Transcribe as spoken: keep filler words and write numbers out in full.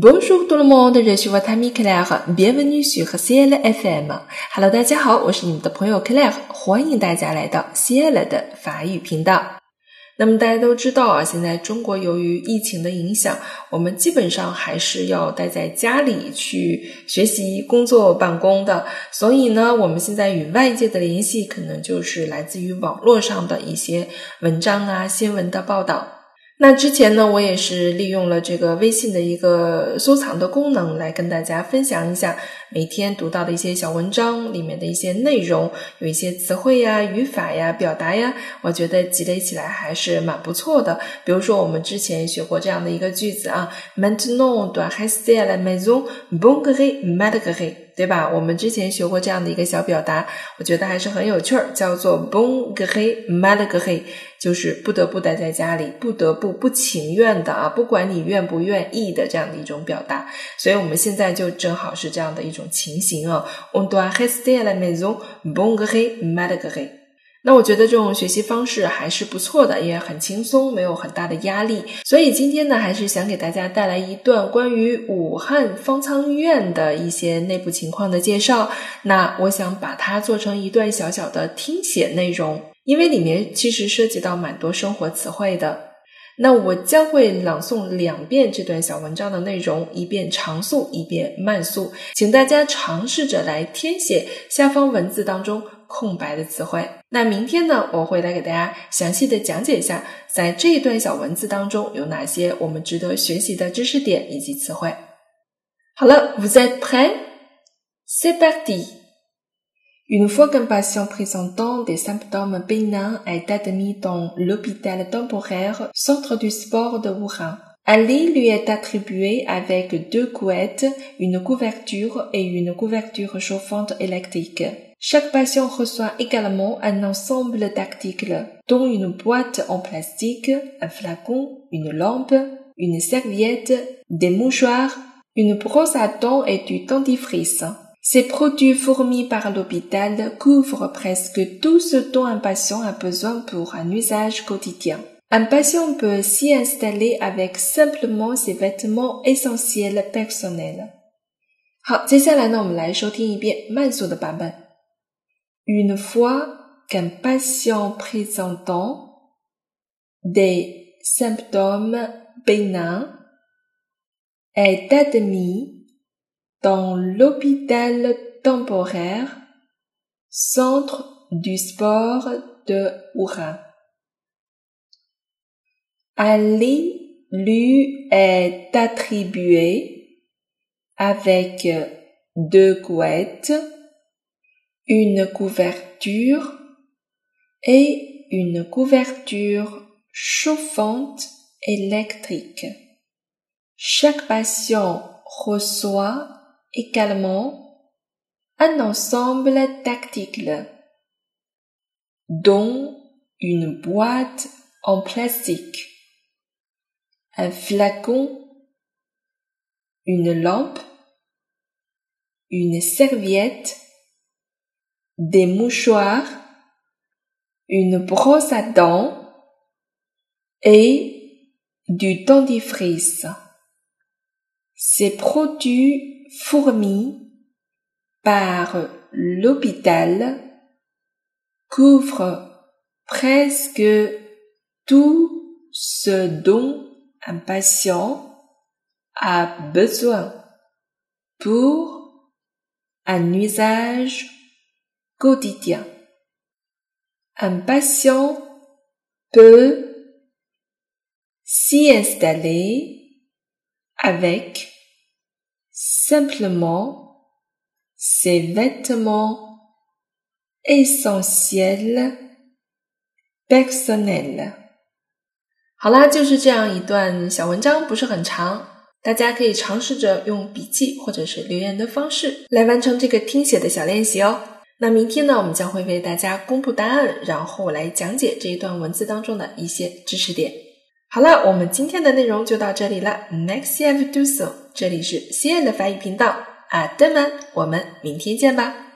Bonjour tout le monde, je suis votre ami Claire, bienvenue sur Ciel F M。Hello， 大家好，我是你们的朋友 Claire， 欢迎大家来到 Ciel 的法语频道。那么大家都知道啊，现在中国由于疫情的影响，我们基本上还是要待在家里去学习、工作、办公的。所以呢，我们现在与外界的联系可能就是来自于网络上的一些文章啊、新闻的报道。那之前呢，我也是利用了这个微信的一个收藏的功能来跟大家分享一下每天读到的一些小文章里面的一些内容，有一些词汇呀、语法呀、表达呀，我觉得积累起来还是蛮不错的。比如说我们之前学过这样的一个句子啊 Maintenant doit rester à la maison, bon gré, mal gré， 对吧？我们之前学过这样的一个小表达，我觉得还是很有趣儿，叫做 bon gré, mal gré， 就是不得不待在家里，不得不不情愿的啊，不管你愿不愿意的这样的一种表达。所以我们现在就正好是这样的一种情形啊 On doit rester à la maison, bon gré, mal gré。那我觉得这种学习方式还是不错的，也很轻松，没有很大的压力。所以今天呢，还是想给大家带来一段关于武汉方舱医院的一些内部情况的介绍。那我想把它做成一段小小的听写内容，因为里面其实涉及到蛮多生活词汇的。那我将会朗诵两遍这段小文章的内容，一遍长速，一遍慢速，请大家尝试着来填写下方文字当中空白的词汇。那明天呢，我会来给大家详细的讲解一下，在这一段小文字当中有哪些我们值得学习的知识点以及词汇。好了 vous êtes prêts? C'est parti!Une fois qu'un patient présentant des symptômes bénins est admis dans l'hôpital temporaire Centre du Sport de Wuhan, un lit lui est attribué avec deux couettes, une couverture et une couverture chauffante électrique. Chaque patient reçoit également un ensemble d'articles, dont une boîte en plastique, un flacon, une lampe, une serviette, des mouchoirs, une brosse à dents et du dentifrice.Ces produits fournis par l'hôpital couvrent presque tout ce dont un patient a besoin pour un usage quotidien. Un patient peut s'y installer avec simplement ses vêtements essentiels personnels. 好，接下来呢，我们来收听一遍慢速的版本。Une fois qu'un patient présentant des symptômes bénins est admis,dans l'hôpital temporaire Centre du Sport de Wuhan. Un lit lui est attribué avec deux couettes, une couverture et une couverture chauffante électrique. Chaque patient reçoit également un ensemble d'articles, dont une boîte en plastique, un flacon, une lampe, une serviette, des mouchoirs, une brosse à dents et du dentifrice.Ces produits fournis par l'hôpital couvrent presque tout ce dont un patient a besoin pour un usage quotidien. Un patient peut s'y installer,avec simplement ses vêtements essentiels personnels. 好啦，就是这样一段小文章，不是很长，大家可以尝试着用笔记或者是留言的方式来完成这个听写的小练习哦。那明天呢，我们将会为大家公布答案，然后来讲解这一段文字当中的一些知识点。好了，我们今天的内容就到这里了。Merci à vous tous， 这里是西安的法语频道。À demain，我们明天见吧。